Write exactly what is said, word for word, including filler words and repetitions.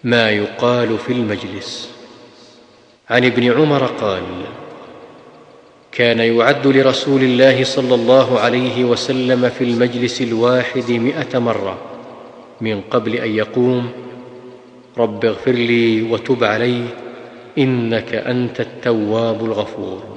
ما يقال في المجلس. عن ابن عمر قال: كان يعد لرسول الله صلى الله عليه وسلم في المجلس الواحد مئة مرة من قبل أن يقوم: رب اغفر لي وتب علي إنك أنت التواب الغفور.